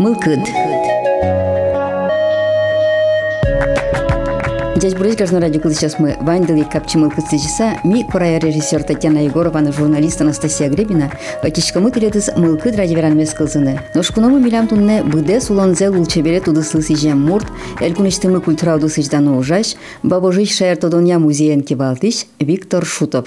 Мылкыд. Здесь будет каждый радио, сейчас мы вандали капчимыл кыцычыса, ми корая режиссер Татьяна Егорова, журналист Анастасия Гребина, ватишкамы тилетис мылкыд радиоверанмес кылзыны. Ношкуному милям тунне быде сулонзе лулчебере тудыслы сижем мурт, элькуништымы культура удысычдану ужаш, бабожич шаертодония музеен кибалтиш Виктор Шутов.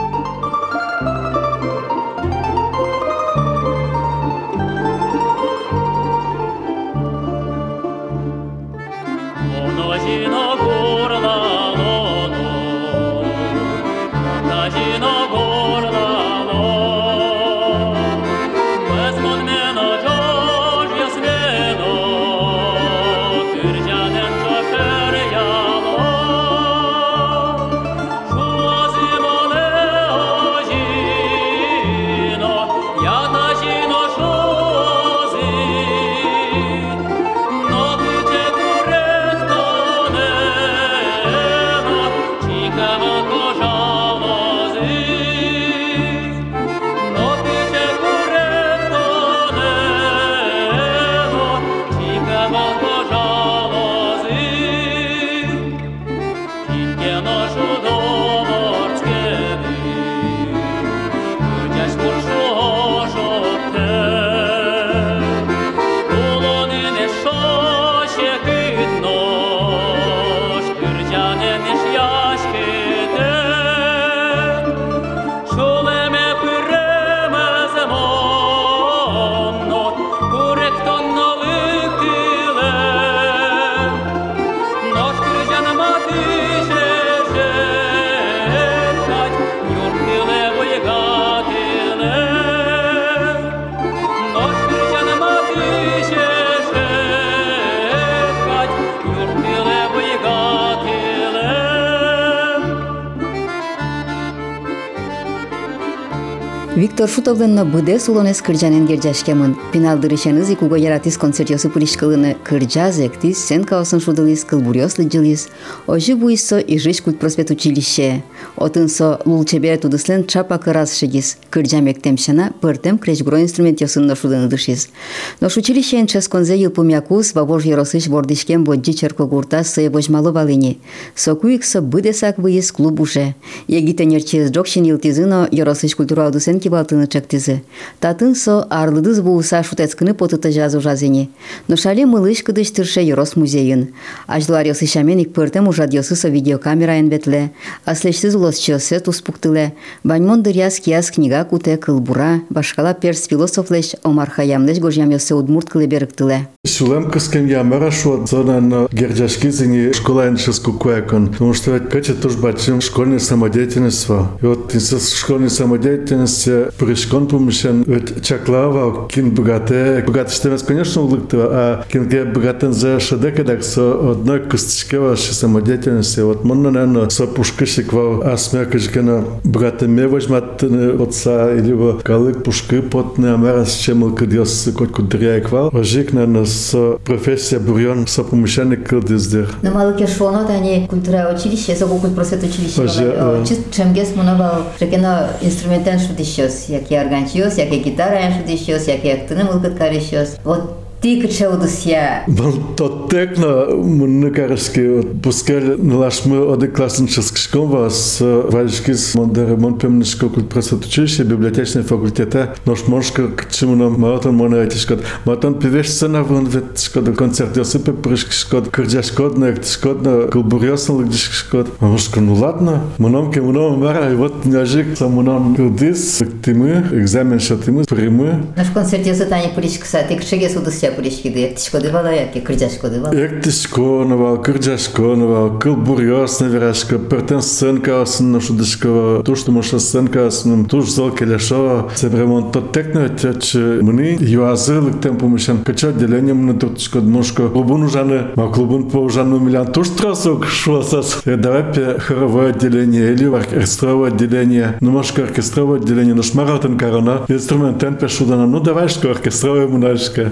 Виктор Шутовдын быде сулонес кыржанен гержашкемын. Пиналдырышеныз икуго яратис концертиосы пулишкылыны кыржаз эктис, сенкаосын шудылис, кылбурёслы жылис. Ожи буйсо ижиш культпроспет училище. Отынсо лулчебе тудыслен чапа кыраз шегис. Кыржа мектемшана пыртем кречгро инструментиосын шудыны дышис. Нош училищен ческонзе йылпумякус бабож еросыш бордишкен боджи черкогурта сые божмало валыни. Сокуиксо быдесак выйыз клуб уже. Егитенерчиз джокшин йылтизыно еросыш культура удысен балтыны чактизы. Татынсо арлыдыз буыса шутецкыны потыта жазу жазыни. Но шале мылыш кыдыш тырше Ерос музейын. Аждылар йосышамен ик пыртем ужад йосысо видеокамераен ветле. Аслешсиз улосчосе туспуктыле. Баньмон дыряс кияс книга куте кылбура. Башкала перс философлеш Омар Хаямлеш гожьям йосе удмурт кылы берыктыле. Сулем кыскем ямара шо зонан герджашки зини школа эншеску куэкон. Потому что ведь Петя тоже бачим школьная самодеятельность. И вот из школьной самодеятельности пришкон помещен ведь чаклава кин богате. Богатство, конечно, улыктыва, а кинге богатен за шедека так со одной косточке вашей самодеятельности. Вот можно, наверное, со пушкышиква асмякашкена богатыми возьмат отца или в калык пушки потны амарас чем кадьос кот кудряйквал. Ожик, наверное, со профессия бурьон со помещенник кылдиздер. На малыке шонот они культура училище, со кукуль просвет училище. Чист чемгес мунавал рекено инструментен шудищос. Яки органчиос, яки гитара шудищос, яки актыны мылкыткарищос. Вот ты кычаудысья. Тот текно мунны карышки пускали налашмы оды классический школ вас вальшкис ремонт пемнышко культпросвет училище библиотечный факультета нож мошка к чему нам маратон монетишко маратон певешцена вон ветшко до концерт йосипе прышкшко кырджашко на эктшко на кулбурьосно лыгдишко мошка ну ладно мономке моном мара и вот няжик самонам кылдис тимы экзамен шатимы примы наш концерт йоситани пулишкса ты кычеге судысья пулишкиды эктишкодывала яки кырджашкодывала эктишконова кырджашконова кылбурьосно верашко пертенсценка осын шудышко то что моша сценка осын туж зал келешо се ремонт тот текно тяч мни юазылык тем помешан кача отделение мне туртышко мошко клубун ужаны ма клубун по ужану миллион туж трасок шосас давай хоровое отделение или оркестровое отделение ну мошко оркестровое отделение но шмаратен корона инструментен пешудана ну давай что оркестровое мунашка и вот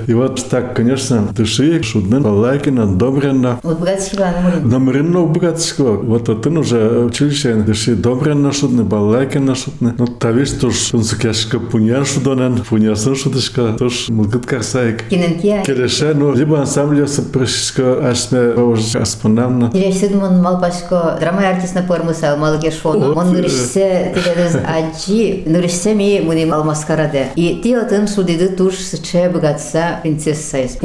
так, конечно, дыши, шудны, балайкина, добренно. Вот богатского Номеринно богатского. Вот он уже училище, дыши добренно шудны, балайкина шудны. Ну, тавиш туш, он сукяшка пунян шудонен, пунясын шудышка, туш мылгыт карсайк. Киненкия. Келеше, ну, либо ансамбль сопрышка, ашме, уже аспонамна. Директор малпашко драма артистна формуса малгешфона. Он нырышсе, тегедез аджи, нырышсе ми муни малмаскараде. И ти отын шудиды туш сыче богатса принцесса из.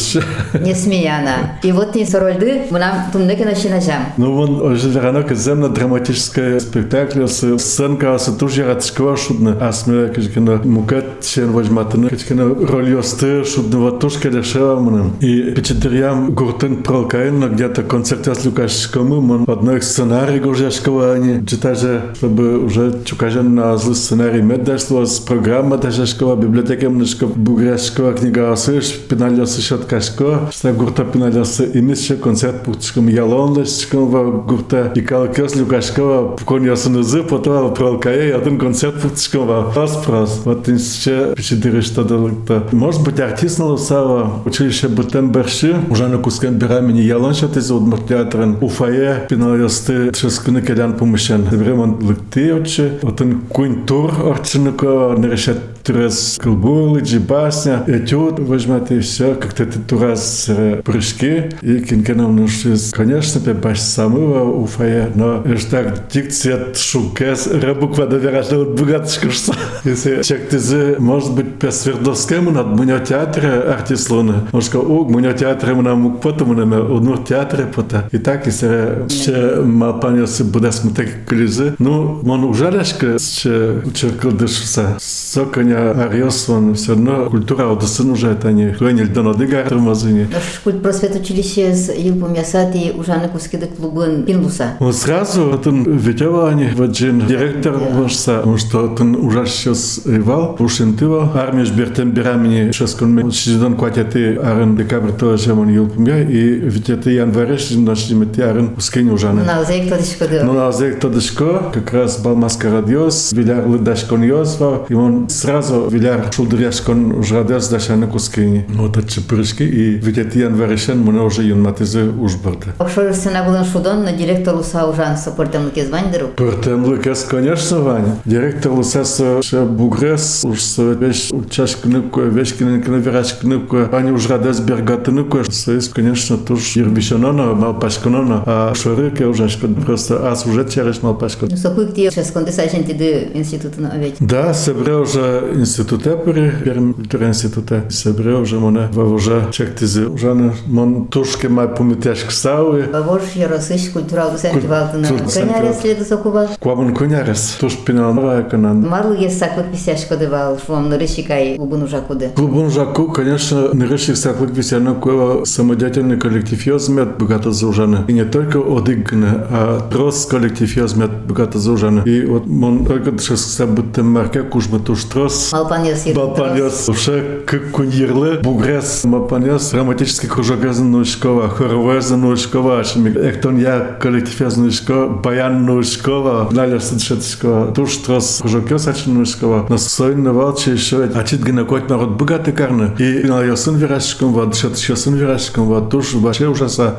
Не смеяна. И вот не сорольды, мы нам тумнеки начинажам. Ну, он уже ранок земно драматическое спектакль, сценка, тоже радского шудна, а смея, качкина, мукат, чен возьматына, качкина, роль осты, шудна, вот тоже келешева мным. И печатерям гуртын пролкаин, где-то концерт с Лукашком, он одной сценарий гуржашкова, они читаже, чтобы уже чукажен на злый сценарий меддашло, с программа дашашкова, библиотека мнешка, бугряшкова, книга осыш, пеналёсы шаткашко, что гурта пеналёсы, и мисче концерт путчком ялонлышком, гурта, и калкёс Лукашкова, коньясынызы, потом пролкае, один концерт путчком, прос. Вот инсче печатеры что далыкта. Может быть, артист налысава, училище Бутенберши, уже на кускем бирамени ялоншат из театрен, уфае, пеналёсты, шескуны келян помощен. Времен лыкты отче, вот он кунтур орчинуко, нарешат тураз кылбулы, джибасня, этюд, возьмете и все, как-то ты тураз прыжки, и кинкеном нужно, конечно, пебаш самого уфае, но это так дикция шукес, рабуква доверяжна от богатышка, что если человек ты может быть по Свердловскому над меня театре артист луны, может сказать, о, меня театре мы нам потом мы нам одну театре пота, и так если ще малпанился буде смотреть колизы, ну, он ужаляшка, ще черкал дышится, соконя ариос, он все равно культура одесын уже это не хранили до надыга тормозыни. Наш культ просвет училище с Илпом Ясати ужаны кускеды клубын пинлуса. Он сразу, он видел они, вот джин директор вошса, потому что он уже сейчас ивал, ушинтывал, армия жбертем бирамени, сейчас он чиздон кватяты арен декабрь тоже он Илпом я, и ведь это январеш, нашли мети арен ускени ужаны. На узек тодышко да. Ну, на узек тодышко, как раз был маскарадиос, виляр лыдашкон йосва, и он сразу виляр шулдыряшкон ужрадес дашаны кускени. Вот это прыжки, и ведь это январешен, мы уже юнматызы ужбарды. Окшор сцена был шудон, но директор Луса ужан сопортем лукез ваньдеру. Портем лукез, конечно, Ваня. Директор Лусаса бугрес, уж вещь чашкнуку, вещкиненкина верашкнуку, они ужрадес бергатынуку, союз, конечно, тоже ербишанона, малпашканона, а шорыке уже просто ас уже через малпашку. Ну, сокуй где сейчас кондесажен тиды института на овечь. Да, собре уже институте первым институте, собре уже моне уже чектизи, уже мон тушки май помитяшк сауи. Вож яросыш культурал сентивалтына. Конярес следу сокувал. Куамон конярес, туш пинанова канан. Марлы есть саклык писяшко дывал, швом нарышикай клубын ужакуды. Клубын ужаку, конечно, нарышик саклык писяна куева самодеятельный коллектив ёзмет богато заужаны. И не только одыгны, а трос коллектив ёзмет богато заужаны. И вот мон только сейчас будто марке кужмы туш трос. Малпаньос. Уже как куньерлы, бугрес, малпаньос, романтический кружок язынушкова, хоровая язынушкова, эктон я коллектив язынушкова, баян нушкова, наля садшетского, туш трос кружок язынушкова, на сойный валчи еще, а чит гинокот народ богатый карны. И на ясын вирашком, вот ясын вирашком, вот туш вообще ужаса.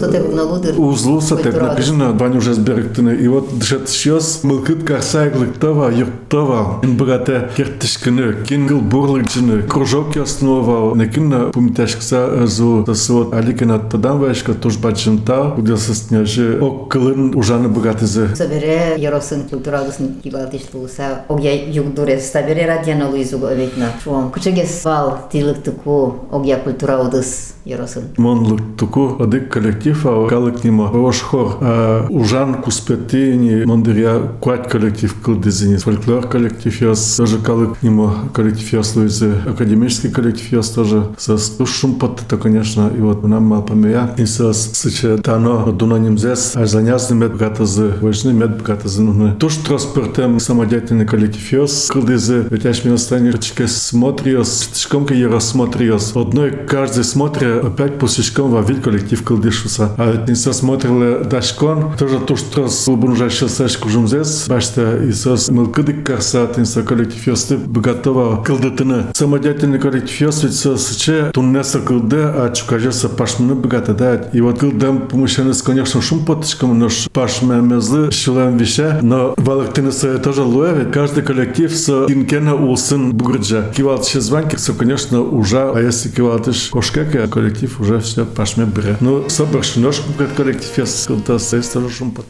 Узлуса, так написано, Ваня уже сберегтыны. И вот дышат сейчас мылкыт карсай глыктова, юртова, ин богатая кертышкыны, кингл бурлыкчыны, кружок ясновал, некинна помитяшкса зу сосуд, аликина тадам вайшка туш бачынта, уделся сняжи, оккылын ужаны богатызы. Собере яросын культуралысын кибалтишлуса, огя югдурес, собере радиана луизугу оветна. Шуам, кучегес вал тилыктыку, огя культуралдыс яросын. Мон лыктыку, адык коллектив, а калык нимо. Вош хор, ужан куспетини, мондыря куать коллектив кылдызини, фольклор коллектив яс, тоже калык нимо коллектив яс луизы, академический коллектив яс тоже. Сос шумпот-то, конечно, и вот нам малпамея. И сос сыче тано дуноним зес, а занязны мед богатызы, важны мед богатызы нужны. Туш транспортем самодеятельный коллектив яс, кылдызы, ведь аж меня станет смотриос, тишкомка я рассмотриос. Одной каждый смотря опять пусечком во вид коллектив кылдышуса. А не смотрели дашкон, тоже туш трос уже сейчас кужумзес, башта и сос мылкыдык карса, тинса коллектив ясты богатого кылдытыны. Самодеятельный коллектив яс, ведь сос вообще туннеса кылды, а чукажеса пашмыны богаты, да. И вот кылдам помощенец, конечно, шум поточком, но пашмемезы шилем веща, но валактинеса тоже луэвит. Каждый коллектив с инкена улсын бугрджа. Кивалтыши званки, все, конечно, уже, а если кивалтыш кошкека, коллектив уже все пашме бре. Ну, собрашь ножку, как коллектив, я скылта, сейс тоже шум поточком.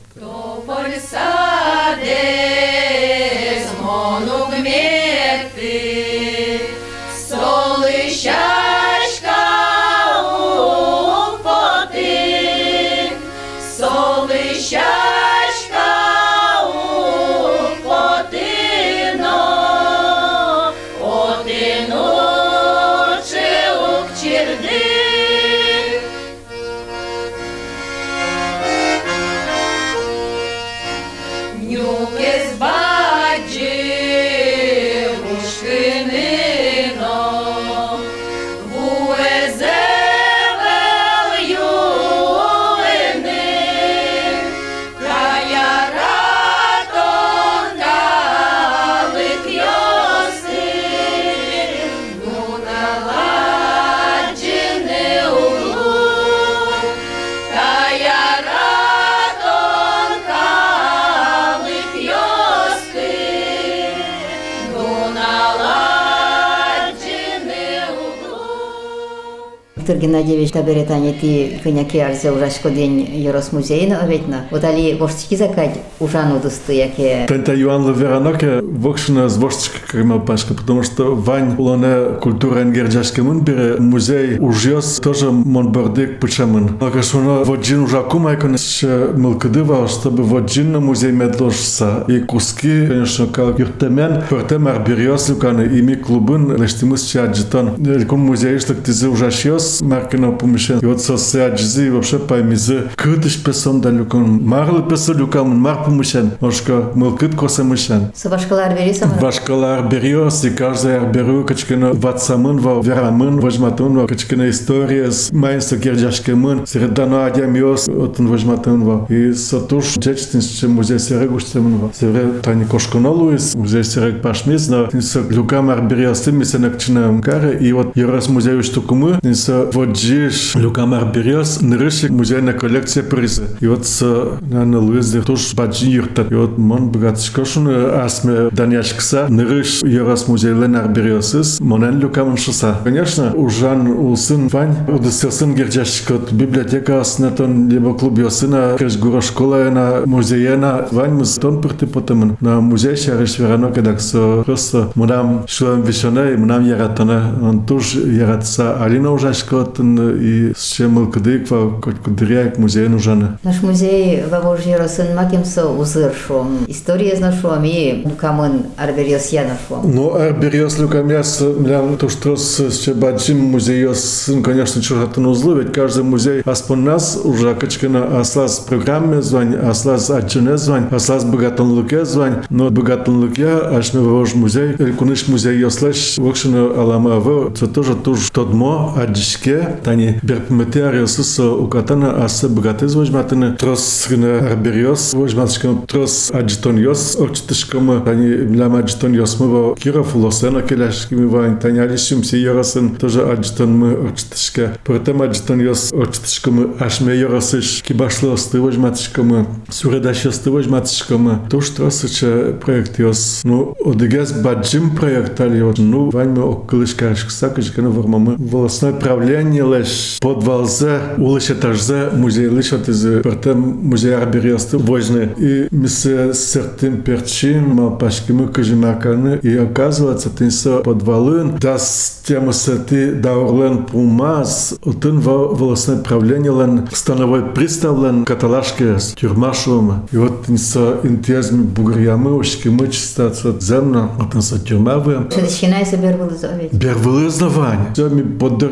Виктор Геннадьевич таберетане ти кыняки арзе ужашко день Ерос музейна оветна. Вот али воштики закать ужану дусты яке. Пента Юан Лавераноке вокшина с воштичка кремел пашка, потому что Вань улоне культура энгерджашке мунбере музей ужьёс тоже монбордик пучамын. Лакашуно воджин ужаку майкон еще мылкадыва, чтобы воджин на музей медложса. И куски, конечно, как юртемен, портем арбириос люканы, ими клубын лештимыс чаджитон. Кун музей, что ты ужашьёс, маркина помещен. И вот социаджизи вообще поймизы крытыш песон да люкан. Марлы песо люкан, мар помещен. Мошка мылкыт коса мышен. Со башкалар берисам? Башкалар бериос, и каждый арберу, качкина ватсамын, верамын, вожматын, качкина история с майнса герджашкемын, средано адямиос, отын вожматын. И сатуш джечтинс, музей серегуштемын. Сере тани кошконолуис, музей серег пашмиз, но тинса люкам арбериос, мисенакчина мкаре, и вот Ерос музей штукумы, тинса воджиш люкам арбериос, нырышик музейная коллекция призы. И вот на Луизе туш баджи юртат. И вот мон богатышкошун асме даняшкса, нырыш Ерос музей лен арбериосис, монен люкам шоса. Конечно, ужан улсын Вань, удостерсын герджашкот, библиотека аснетон, либо клуб йосына, крышгура школа на музеена, Вань мы стон пырты потемын. На музей шариш верано, когда просто мунам шлем вишоне, мунам яратане, он туш яратса алина ужашкот, и с чем мылкадыква, хоть кудряк музей нужен. Наш музей во Еросын макемсо узыршом. История знашом и лукамын арбериос я нашом. Ну, арбериос лукамяс, млян, то что с чебаджим музейос, конечно, чужатан узлы, ведь каждый музей аспон нас уже качкина аслаз программе звань, аслаз аджине звань, аслаз богатан луке звань, но богатан луке, аж мы вож музей, элькуныш музей йослеш, вокшина аламаво, это тоже туж тодмо, аджишке, тани берпметеариосус укатана, аса богатый зважматаны, трос арбериос, вожматышкам трос аджитоньос, очтышкам, тани млям аджитоньос мы Киров, Лосена, келяшками вань, тани алишимси Еросен, тоже аджитон мы очтышка, потом аджитоньос очтышкам, аж мы Еросыш, кибашлосты вожматышкам, суредашесты вожматышкам, туж тросыча проект йос, ну, одегез баджим проект али, ну, вань мы околышкашкса, качкана вормамы, волосное правление лишь подвалзе, улыш этажзе, музей лишь от из потом музей арбериосты вожны, и мы с сертым перчим, малпашкими кажимаканы, и оказывается, ты со подвалын, да с тем сети да орлен пумаз, отын волосное правление лен становой приставлен каталашке с тюрмашевым, и вот ты со интезми бугрямы, ушкимы чистаться земно, отын со тюрмавы. Что начинается бервылызовать? Бервылызование. Все, мы поддорёсе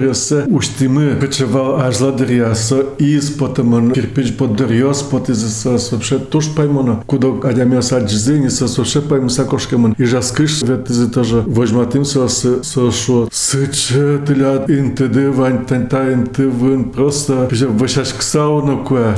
уштимы кочевал ажладыря со из потом кирпич поддырёс потизис вообще туш поймоно куда адямёс аджизени со вообще пойму сакошкамын и жаскыш ветизи тоже возьматым со шо сычетля интеды вань тента интывын просто вышаш ксауна куя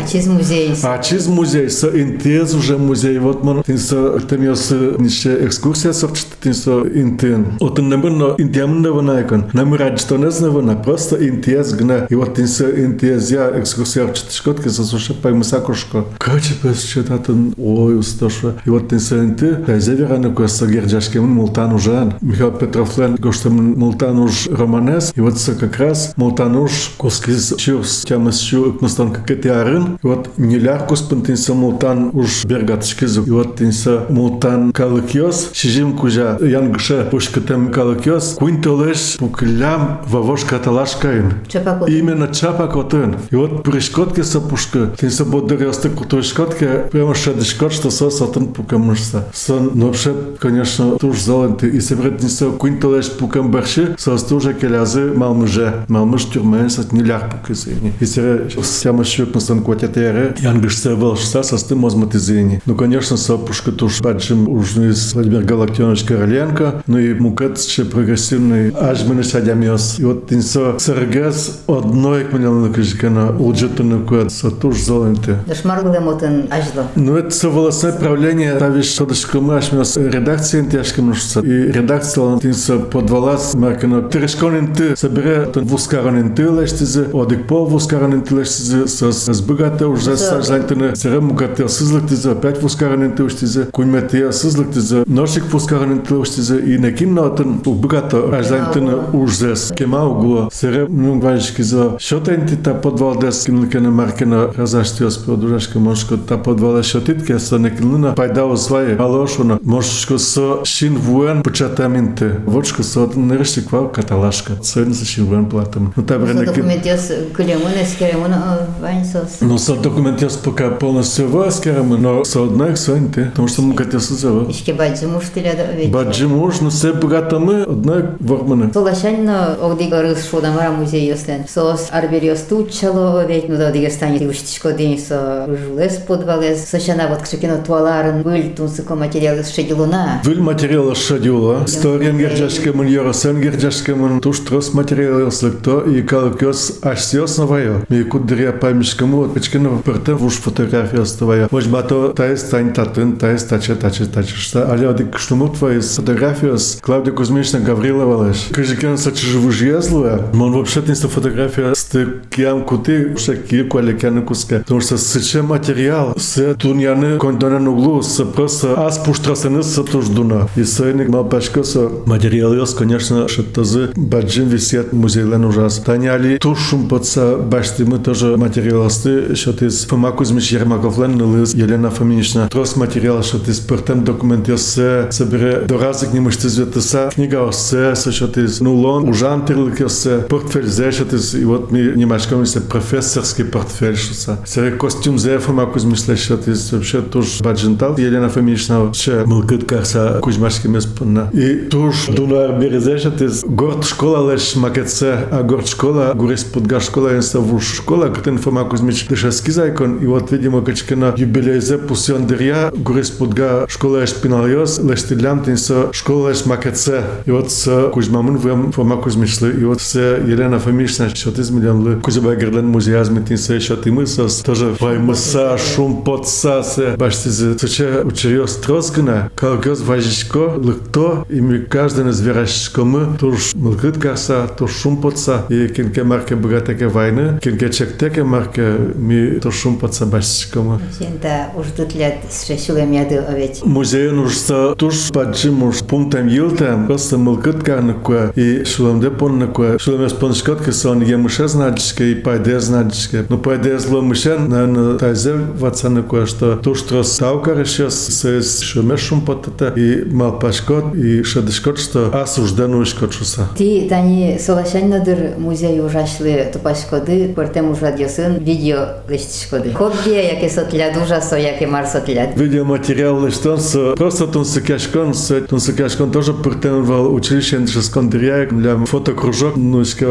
ачиз музей со интез уже музей вот мон тинсо темёс нище экскурсия совчт тинсо интен отын небно интиамна ванайкон намирать что не знавана просто интез гна и вот тинсо интез я экскурсия чтышкотки со вообще пойму сакошко каче пес читатын ой усташа и вот тинсо инте зеверана куя со герджашкем мултан ужан Михаил Петровлен гоштем мултан уж романес и вот как раз мултан уж коскиз чурс тямас чу мустан какетиарын и вот неляркус пентинсо мултан уж бергатшкизу и вот тинсо мултан калыкёс шижим кужа янгша пушкатем калыкёс куинтолеш пуклям вавош каталашкаин именно чапакотын и вот пришкотки со пушка тинсо бодырёсты кутушкотки прямо шадышкот что со сотын пукамышса сон но вообще конечно туж золоты и себретнисо куинтолеш пукам барши со стужа келязы малмыш тюрмен сот неляр пукизени и сере сяма щук мустан кватятере янгшса волшса со стым мозматизени ну конечно со пушка туж баджим ужнис Владимир Галактионович Короленко ну и мукатше прогрессивный ажмыныш адямёс и вот тинсо сергес одной кменялны кыжкана улджетыны куат со туж золоты дашмаргулемотын ажло ну это со волосное правление тавиш шодышкамы ашмёс редакция интяшкамышса и редакция тинсо подвалас маркано терешконин ты собере вускаранин ты лештизе одик по вускаранин ты лештизе с богата уже сажантыны серем мукател сызлыктизе опять вускаранин ты уштизе кунметия сызлыктизе ношик вускаранин ты уштизе и некиннотын богата ажантыны ужзес кема угла серем мунгвайшкизе шотенти та подвалдес кинлыкена маркено разаштиос продужашка мошко та подвала шотитке со некинлына пайдау свои алошуна мошко со шинвуэн початаминты вочко со нерштиквал каталашка сегодня со шинвуэн платам ну табре неки документиос кулемунес керемун вайнсос ну со документиос пока полностью воскерем но со одной своинты потому что мы хотел созова ишке баджимуш тиляда ведь баджимуш ну все богато мы одной ворманы солашанно огдигарыс шодамара музей ёслен сос арбериос тучало ведь ну додиге стани уштичко день со жулес подвалес сошана вот кшекино туаларын был тунсыко материалы шедилуна выл материалы шедила сториен герджашкемын йоросен герджашкемын туш трос материалы слыкто и калкёс ашсиос новая ми кудыря памишкаму вот печкино пыртен вуш фотография оставая возьмато таис тань татын таис таче что але одик штуму твои фотографиос Клавдия Кузьмична Гаврилова леш кажекен саче вужьезлуя мон вообще тинса фотография с киам кути шаки куалекяны куска потому что сыче материал с туньяны кондонен углу с просто ас пуштрасаны с туждуна и сойник малпашко со материалиос конечно шаттазы баджин висят музейлен ужас таняли тушум подса башти мы тоже материалосты что из Фома Кузьмич Ермаковлен нылыз Елена Фоминична трос материал что из пертем документиосе собере доразик не мышцы зветоса книга осе что из нулон ужан терлыкосе портфель зе что из и вот мы немножко мы профессорский портфель что сере костюм зе Фома Кузьмич что из вообще тоже баджинтал Елена Фоминична че мылкыт карса Кузьмашки меспна и туш дунар березе что из город школа леш макетсе а город школа гурис подга школа инставуш школа катен Фома Кузьмич дышаски зайкон и вот видимо качкина юбилейзе пусиондерия гурис подга школа шпиналиос лештилям тинсо школа леш макетсе и вот с Кузьмамын вем Фома Кузьмич и вот с Елена Фоминична что из миллион Кузьба Герлен музеязми тинсо что ты мысос тоже ваймыса шум подса се баштизе соче учериос троскина калгёс важичко лыкто и ми каждый из верашкомы туш мылкыт карса туш шум подса и кенке марке богатеке войны кенке чектеке марке ми туш шум подса баштичкомы сента уж тут лет шешулем яды овечь музей нужно туш паджим уж пунктам юлтам просто мылкыт карныкуа и шулемде понныкуа шулемес поншкотке сон емыше знадичке и пайде знадичке но пайде зло мышен на тайзе вацаныкуа что туш трос таука решес с шумеш шум подтата и малпашкот и шадышкот что осужденный шкотшуса ти тани солашаннадыр музей ужашлы тупашкоды портем ужадьосын видео лештишкоды хобби яке сотляд ужасо яке мар сотляд видеоматериал лештонсо просто тунсыкашкон тоже портем в училище шескондерия для фотокружок ну искал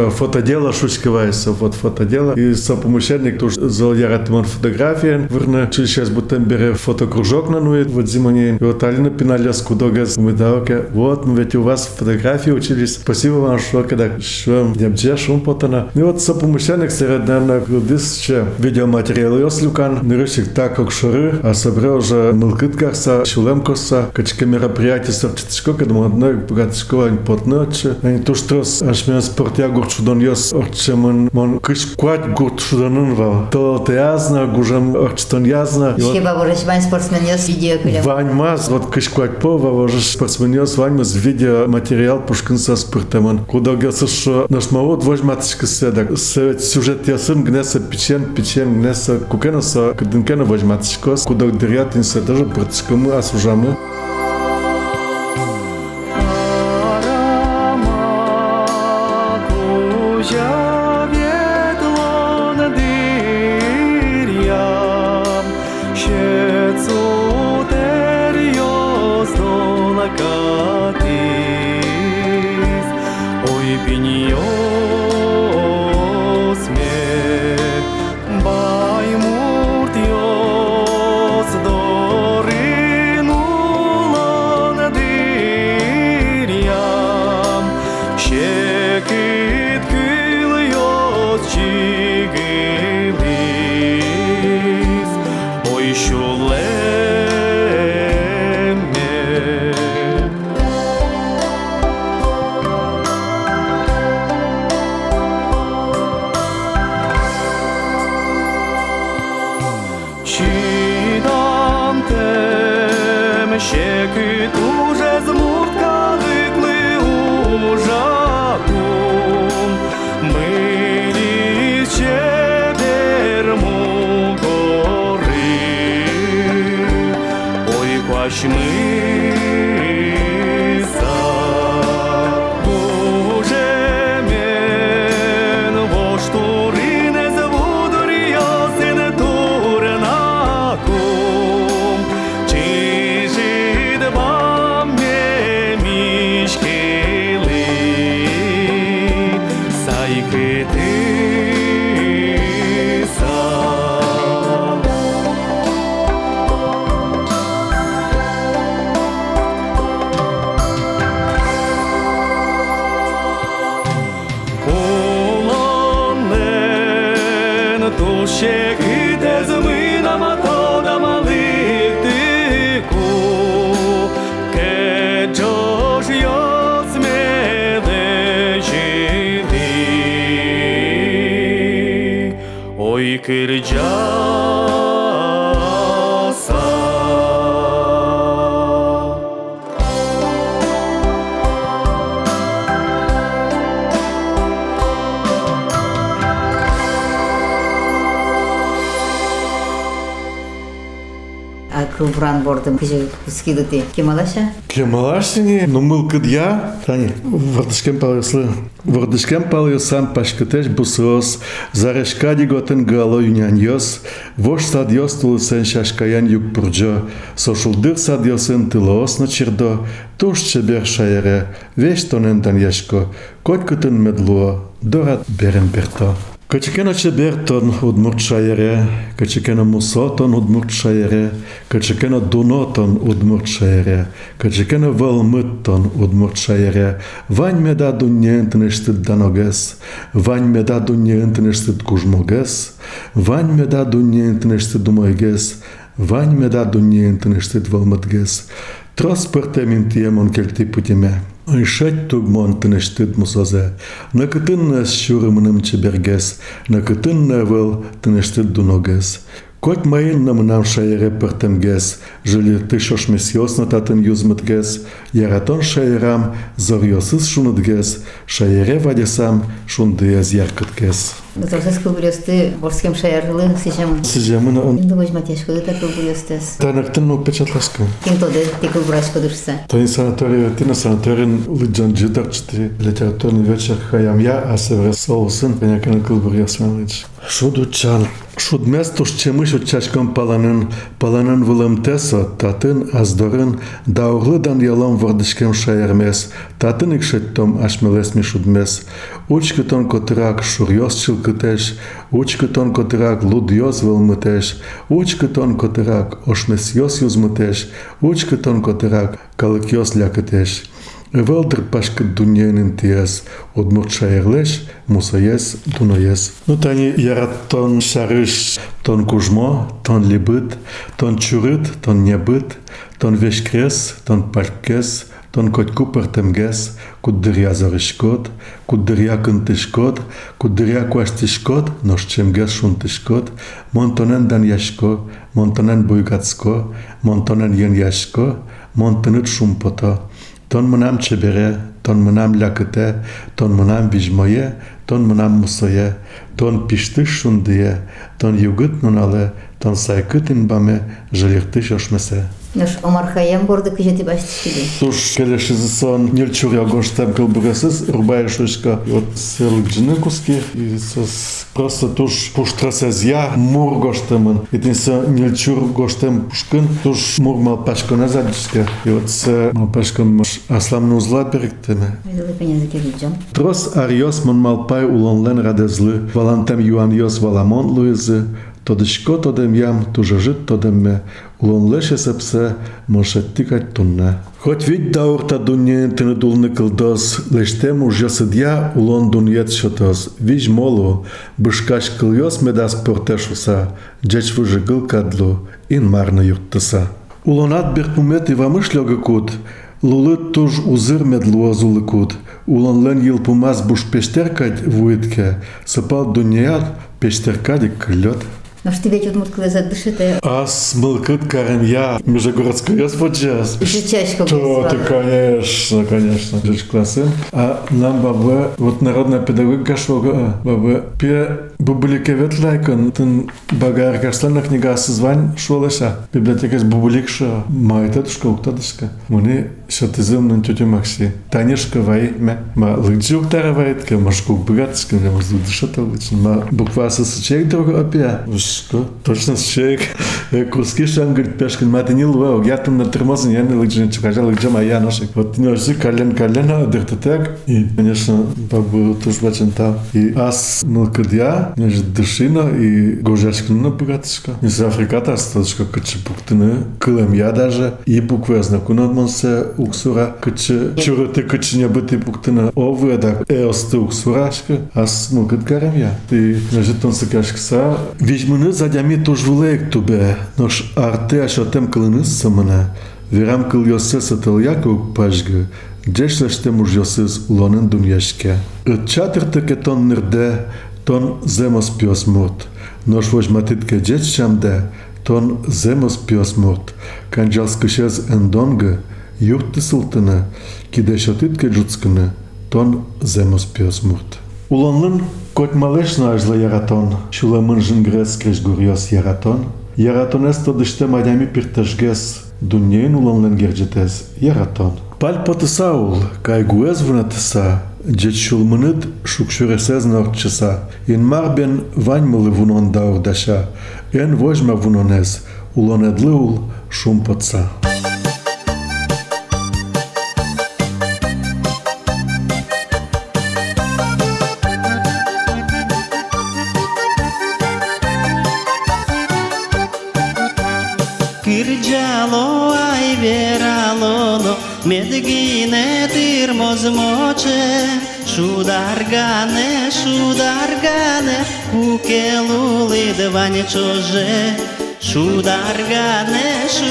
фотодело шучковается, вот фотодело. И сопомощник тоже залярат мон фотографии. Верно, сейчас будем берем фотокружок на нует, вот зимоне. И вот Алина пинали скудогаз. Мы давайте, вот, мы ведь у вас фотографии учились. Спасибо вам, что когда шум, дебже, шум потана. И вот сопомощник среди, наверное, дысче видеоматериалы Йослюкан. Нырышик так, как шуры, а собрал уже мылкыткарса, шулемкоса, качка мероприятия сорчаточко, когда мы одной богаточко, они потночи. Они то, что аж меня спортя гурчудон йос, орчем он кышквать гурчудонун вал. То ты язна, гужем орчтон язна. Хиба ворож вань спортсмен йос видео кулем. Вань маз, вот кышквать по, ворож спортсмен йос, вань маз видеоматериал пушкинса спортемон. Куда гелся, что наш мавод возьматочка седак. Сюжет ясын гнеса печен гнеса кукенаса, кадынкена возьматочка. Куда дырятинся, даже протискому осужамы. Вран бордым кыжы скидыты. Кемалаша? Кемалашыни, но мылкыд я, тани, вардышкем палыслам пашкытеш бусос, зарешкади готен гало юнян йос, вош сад йос тулысен шашкаян юг пурджо, сошулдыр сад йосен тылоос на чердо, туш чебер шаере, веш тонен даньешко, коткутын медлуо, дорат берем перто. Качекена чебертон удмуртшаере, качекена мусотон удмуртшаере, качекена дунотон удмуртшаере, качекена валмыттон удмуртшаере, вань меда дуньентнештит даногес, вань меда дуньентнештит кужмогес, вань меда дуньентнештит думойгес, вань меда дуньентнештит валмытгес, транспортемин тиемон кельти путеме. Ишать тугмон тынештит мусазе, на кытынна щурымным чебергес, на кытынна вел тынештит дуногес. Кот майын намынам шайере пыртемгес, жили тышош месьёсна татын юзмытгес, яратон шайерам зорьосыз шунытгес, шайере вадесам шундыез яркыткес. Зорсыз кылбылёсты борскем шайерлы сижем. Сижем, но... Инды возьматешко, это кылбылёстес. Танактын печатлашка. Кем тоды, ты кылбырашко дышса. То есть санаторий, ты на санаторин лыджан джидарчты, литературный вечер хаям я, а севре соусын, понякана кылбырёсман лыдж. Шудучан. Шудместуш чемыш учачком паланын вылымтесо, татын аздорын, да углыдан ялом вардышкем шаермес, татын икшеттом ашмелесми шудмес. Учкытон котырак шурьос чылкытеш, учкытон котырак лудьос вылмытеш, учкытон котырак ошмесьос юзмытеш, учкытон котырак калыкьос лякытеш. Велдер пашкат дуньянин тиес, одмурт шаерлеш, мусаес, дуноес. Ну тани ярат тон шарыш, тон кужмо, тон либыт, тон чурыт, тон небыт, тон вешкрес, тон паркес, тон котку партемгес, куддыря зарышкот, куддыря кынтышкот, куддыря куаштышкот, ношчемгес шунтышкот, монтонен дан яшко, монтонен буйгацко, монтонен ен яшко, монтонет шумпото. Тон мынам чебере, тон мынам лякыте, тон мынам вижмое, тон мынам мусое, тон пиштыш шундые, тон югыт нунале, тон сайкытын баме, жилиртыш ошмесе. Наш омархаям борды кыжети баштышкиди. Туш келешизи сон нельчуря гоштам кылбыресыз, рубая шушка. Вот серлыкжыны куски, и сос просто туш пуштрасезя мур гоштамын. И тинса нельчур гоштам пушкын, туш мур малпашко назадышка. И вот с малпашком асламны узла беректеме. Айдалы пенязы келиджам. Трос ариос мон малпай улонлен радезлы, валантам юаньос валамон луизы, тодышко тодем ям, тужажит тодемме, улонлеше сепсе, мошеттикать тунне. Хоть вид даурта дуньен тыны дулны кылдос, лештем уж ясыдья улон дуньет шотос, виж молу, бышкаш кыльос медас портешуса, джеч выжигыл кадлу, ин марна юрттыса. Улонат берпумет и вамышлёга кут, лулыт туж узыр медлуазулы кут, улонлен йылпумас буш пештеркать вуитке, сыпал дуньят пештеркадик клёт. Но что тебе тут мутка задышите? Ас мылкыт карем я, межегородской господжас. Жичачка. Что ты, конечно, жич классы. А нам баба, вот народная педагогика шога, баба, пе бубулике ветлайкон, тын багар каштанна книга созвань шолаша. Библиотека с бубуликша, майтатушка, уктатушка. Муни шатызым на тетю Макси. Танешка вайме, ма лыкджи уктаравайтка, машку богатышка, ма дышата лычн, ма буква сосочек друга опя. Что? Точно с человек. Куски шан говорит, пешкин, маты не луэл, я там на термозен, я не лыджин, чукажа лыджа моя ношек. Вот не ожи колен, дыртатек. И, конечно, бабу тоже бачен там. И ас мылкадья, неж дышина, и гожачкина богатышка. Не с Африката, статушка, каче пуктыны, кылем я даже. И буквы знакуна монсе уксура, каче чурыты, каче не быты пуктыны. Овы, да, эосты уксурашка, ас мылкад гарем я. И неж тон сакашкса, Вижмыны задями тоже вулеек тубе, нож арте ашатем кылыныз самына, верам кыл йосес атыльяк пажгы, джешлештем уж йосес улонын дуньяшке. Чатыртыке тон нырде, тон земос пьос мурт, нож вожматитке джеч шамде, тон земос пьос мурт, канджал скышез эндонгы, юрты сылтыны, кидешотитке джуцкыны, тон земос пьос мурт. Улонлын Кот малешна ажла яратон, шуламын жынгрес креш гурьос яратон. Яратонес тодыште мадями пирташгес, дуньен улонлен герджетес яратон. Паль потысаул, кай гуэз вунатыса, джет шулмыныт шукшуресез норчыса. Ин марбен ваньмылы вунон даурдаша, эн вожма вунонез, улонедлыул шумпотса. Кырджало ай вералоно, медгине тирмоз моче, шударгане, кукелули дване чоже, шударгане,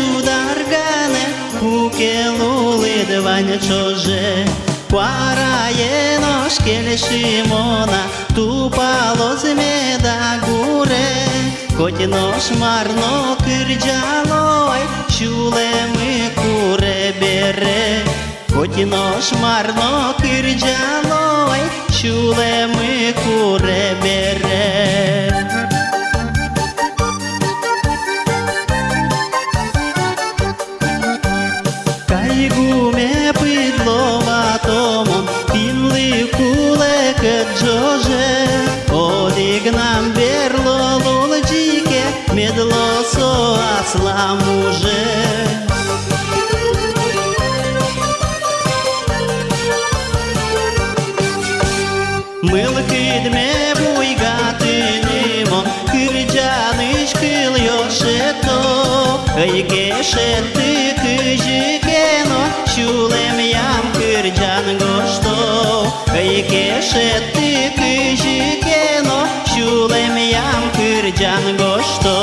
кукелули дване чоже. Quaraie nos keleshimona, tu palos meda gure, коти nos marno kırjaloi, şulemi kure bere. Коти nos marno kırjaloi, şulemi kure bere. Кайгуме пидлова томон, пинли куле каджоже, одигнам бер Мылкидме буйгатынимон, кырджаныш кыл йошето, айгешетты кыжыкено, шулем ям кырджан гошто, айгешетты кыжыкено, шулем ям кырджан гошто.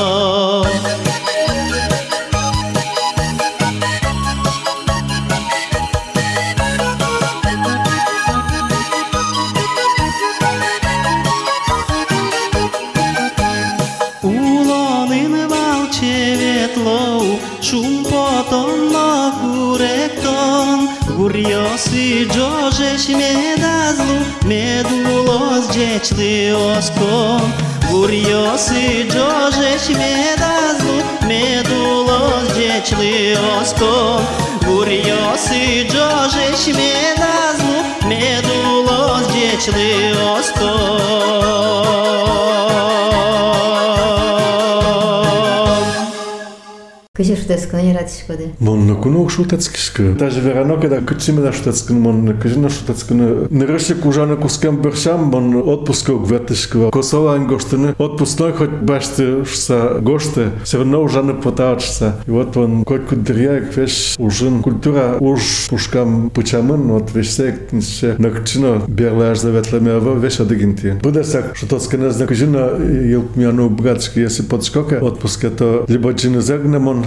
Шум потом на куректон, гурьосы джожеш медазлу, медулос джечли оскон. Гурьосы джожеш медазлу, медулос джечли оскон. Гурьосы джожеш медазлу, медулос джечли оскон. Кыжы шутецканы яратышпады. Монны куну шутецкишка. Даже верано, когда кычиме да шутецканы, монны кыжына шутецканы. Нырышык ужаны кускам биршам, монны отпуска угветышка. Косова ангоштыны отпускной хоть башты шса гошты, все равно ужаны потаачса. И вот он хоть кудыряек веш ужин культура уж пушкам пучамын, вот веш сек нисше накчино берлаж заветлемева веш адыгинти. Буде сак шутецканы зна кыжына елкмяну братышки, если подскока отпуска, то либо джины загнамон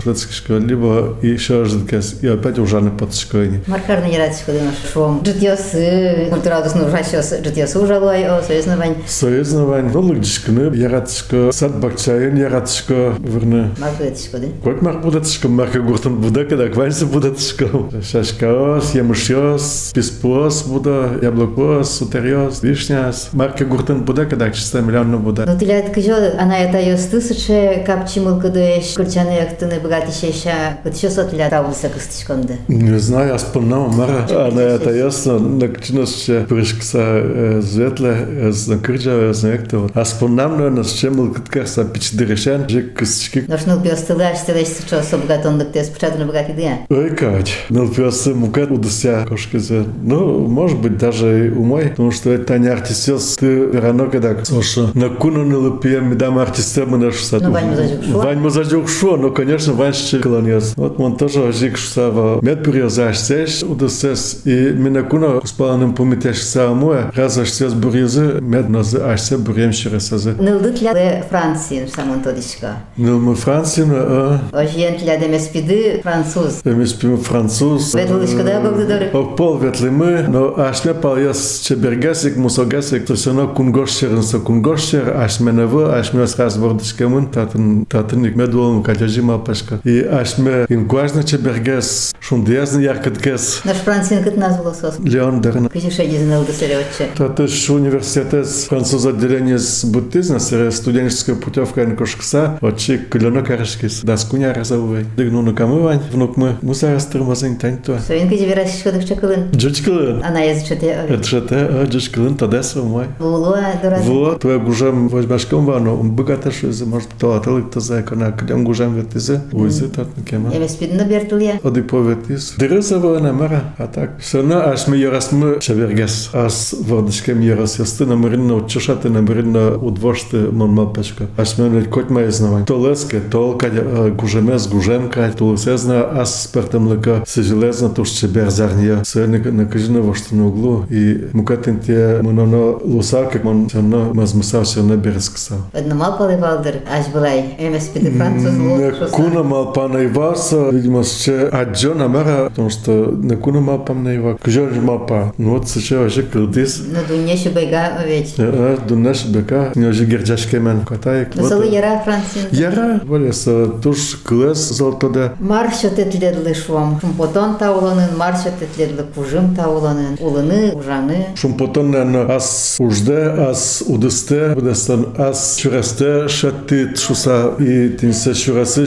либо еще раз и опять уже не подскойни. Маркарны яратышпады наш шом. Житьёсы, культурадусны ужащёс, житьёсы ужалой, о союзновань. Союзновань, ну лыгдышканы, яратышка, сад бакчайын яратышка, верны. Маркудетышпады. Кот маркудетышка, марка гуртан буда, когда кванься будетышка. Шашкаос, ямышёс, писпос буда, яблокос, сутерёс, вишняс. Марка гуртан буда, когда 400 миллионов буда. Ну тилят кыжо, она это ёс тысяча капчимыл кыдыш, курчаны яктыны богатейшая, вот еще сотля тавлыса кыстышконды. Не знаю, я вспомнил, Мара. Она это ясно, накчиносче пришкса зветле, знакырджа, знакто. А вспомнил, но с чем был кыткарса пичдырешен, жик кыстышки. Ношнул пёстылы, аж ты лечь что со богатондык, ты спочатку богатый дня. Ой, кать. Ныл пёсы мукат удуся кошкизе. Ну, может быть, даже и умой, потому что это не артистёс, ты рано когда соша. На куну нылыпьем, медам артистём мы наш сад. Ну, Вань музажук шо. Вань музажук шо, ну, конечно, Ваньше колониас. Вот он тоже жик шсава медбурьезашсеш удусес и минакуна успаланым помитеш самое разашсес бурьезы меднозы ашсе бурьемшересазы. Нылды тля Франции, самон тодишка. Нылмы Франции, Ожьен тля демеспиды француз. Демеспимы француз. Ветлышка да как доры. Пол ветлимы, но ашме пальес чебергасик, мусогасик, то все равно кунгошшернса кунгошшер, ашме навы, ашме с разбордышкамын, татын медулом катяжима пашка. И ашме ингуажна чебергас, шундиязны яркаткас. Наш Францин кыт назвал сос. Леон Дерна. Кыжишеди знылды сырётче. Татыш университет француз отделение с буддизма, студенческая путевка Анкошкса, отчи клёно карышкис, даскуня разовой. Дыгну на камывань, внук мы, мусарас тырмазын таньто. Соин кыжи верашишка дыкчакылын. Джучкылын. Она язычете. Это же те, джучкылын, тадесо мой. Вулуа дураз. Вот, твоя гужам возьмашком вану, он богаташ из, может, то атылык то закона, клям гужам ветизе, уйзы татны кема. Емеспидны бертылья. Оды поветис. Дырызова намара, а так. Все равно, аж мы ярасмы чавергас, ас вордышкем ярас, ясты намыринно учушаты, намыринно удвошты монмалпешка. Аж мы ледь коть мои знавань. То леске, то кадя гужемес, гужемка, то лысезна, ас спертем лыка, сежелезна, то ще берзарния. Сэльник накажина вошты на углу, и мукатын те мононо лусак, как он все равно мазмусав, все равно бересксав. Одно малпалы валдыр, аж былай. Емеспиды француз лу. Куна малпана иваса, видимо, ще аджо намара, потому что на куна малпам на ива. Кжо малпа. Ну вот сейчас вообще кылдис. На дуньеше байга овеч. Дунеш бека, не уже герджашкемен катаек. Насалы яра Францин. Яра, волеса, туш клес золотода. Маршо тетледлы швам. Шумпотон тауланын, маршо тетледлы кужым тауланын. Улыны, ужаны. Шумпотон, наверное, ас ужде, ас удысте, будестан ас чурасте, шатты тшуса и тинсе чурасыш, паланы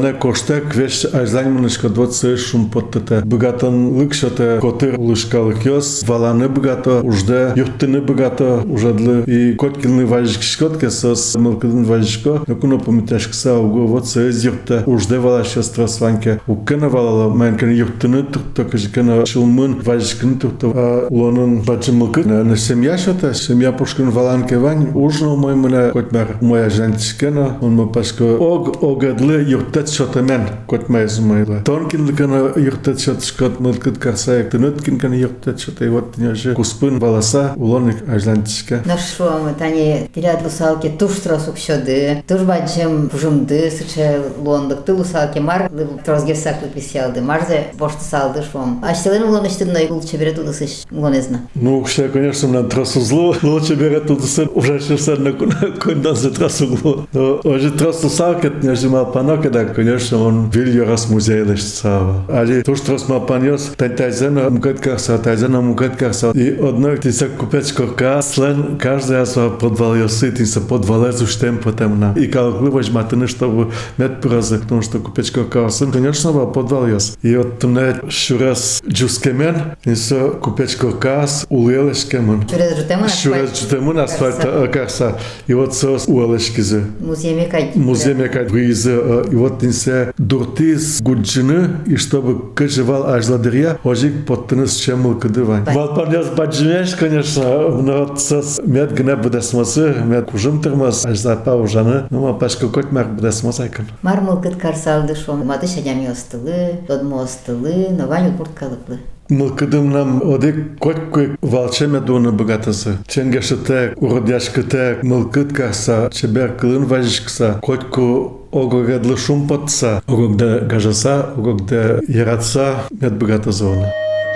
не коштек вещь ажлайманышка 20 шум подтата. Богатон лыкшата котыр лышкалык ёс, валаны богато, ужде юртыны богато, ужадлы и коткилны важишкотке сос мылкыдын важишко. Накуно помиташкса уго вот соез юрта ужде валаша страсванке. Уккена валала менкен юртыны турто кажикена шулмын важишкыны турто. Улонын бачы мылкыд. На семья шата, семья пушкин валанке вань. Ужно мой мына котмар моя жантишкена. Он ма пашко огадлы юртет шата мен котмай зумайла. Тонкин лыкена юртет шатышкот мылкыд карсаяк. Тыныткин кена юртет шата. И вот тняжи куспын валаса улоник ажлантишка. Нашо тани тирят лусалки туштра сукшоды. Турбачым пужумды сыча лондык. Ты лусалки мар трозгерсаклы писялды. Марзе бошты салды швом. Аштелен улоныштыдной лучше берет удысыш улонезна. Ну, все, конечно, на трассу зло. Лучше берет удысын. Уже все на кондан за трассу зло. Но уже трассу салкет не жимал панока, да, конечно, он вильё раз музей лишца. Али туш трас ма паньос тайзена мукеткарса, тайзена мукеткарса. И одной ты се купечко слен каждый раз подвал ёсы, ты се подвалезу штем потом на. И калгливаш матыны, чтобы мед празы, потому что купечко карсын, конечно, подвал ёс. И вот мне шурас джускемен, и се купечко кас улелешкемен. Шурас жутемун асфальт карса. И вот со улелешкизе. Муземе кайд визе. И вот не се дуртиз гуджины, и чтобы кажевал аж ладырья, ожик подтыныс чемыл кадывань. Валпаньяс баджимеш, конечно, но вот сос мед гне буде смысы, мед кужым тырмас, аж запа ужаны, ну ма пашка котмар буде смасайкан. Мармыл кыт карсалды шом, маты шадями остылы, додмо остылы, но ваню курткалыклы. Мылкыдым нам одик котькой валчеме дуны богатасы. Ченгешетек, уродяшкетек, мылкыд карса, чебер кылын важишкса, котку огогадлы шум потса, огогда гажаса, огогда яратса, мед богата зона.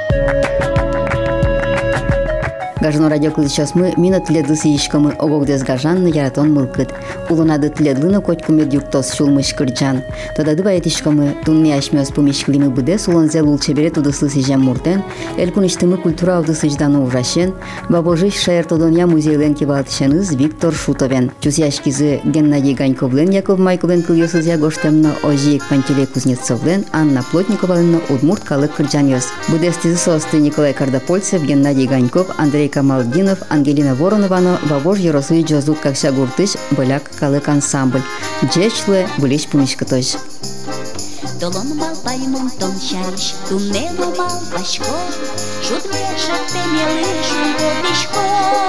Гажно радио кылычас мы мина тледы сыйышкамы огогдес гажанны яратон мылкыт. Улунады тледлыны котку мед юртос шулмыш кырджан. Тодады баятышкамы тунми ашмёс помешклимы быдес улонзе лулчебере тудыслы сыжам муртен, элкуништымы культура алды сыжданы ужашен, бабожиш шаертодония музейленки валтышаныз Виктор Шутовен. Чусяшкизы Геннадий Ганьковлен, Яков Майковлен кыльёсыз ягоштемна Ожиек Пантелей Кузнецовлен, Анна Плотниковалена Удмурт калык кырджан ёс. Быдестизы состы Николай Кардапольцев, Геннадий Ганьков, Андрей Камалдинов, Ангелина Воронована, Вавож Ярославич Джозут Какша Гуртыш, Боляк Калык ансамбль. Джечле Булич Пумишкатош. Долон мал паймон том шариш, туннелу мал башко, шут вешат темелы шумбодишко.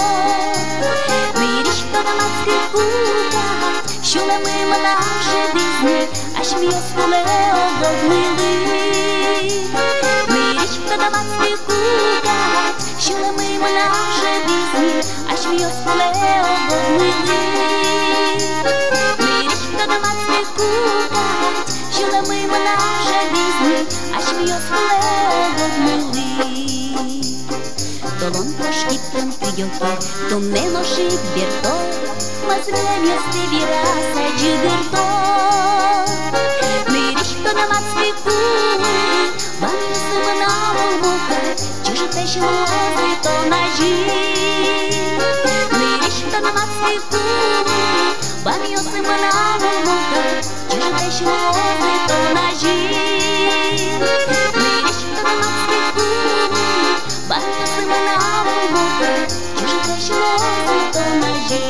Мириш тодамацки кукат, шуле мыма наше дизни, аж мьёс куле огогмылы. Мириш тодамацки кукат, шуле мыма наше дизни, аж мьёс куле огогмылы. Мириш тодамацки кукат, шуле мыма наше дизни, аж мьёс куле огогмылы. Долон прошкиптен тыгёлке, тунне ношик берто, мазрем ёсты вираса джигырто. Мириш тодамацки кулы, вам ёсымы на улмука, чужите шлозы то ножи. Мириш тодамацки кулы, вам ёсымы на улмука, чужите шлозы то ножи. Мириш тодамацки кулы, вам ёсымы на улмука, чужите шлозы то ножи.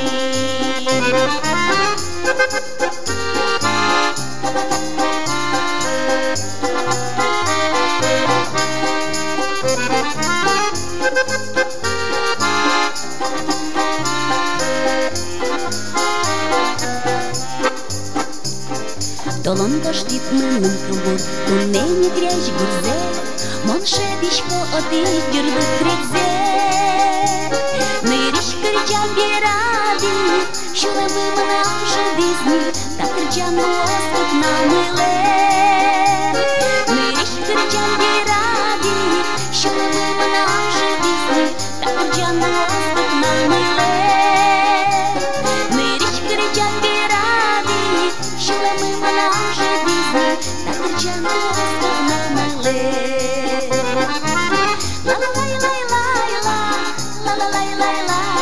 Долон коштит мылын кылбур, тунне не грязь гурзе, мон шедишко отыш дюрдык кредзе. Мыриш кырджан беради, шуле мыма наше дизни, так кырджан мостык намыле. Мыриш кырджан беради, шуле мыма наше дизни, так кырджан мостык намыле. Мыриш кырджан беради, шуле мыма наше дизни, так кырджан мостык намыле. La la la la la la la la la la la.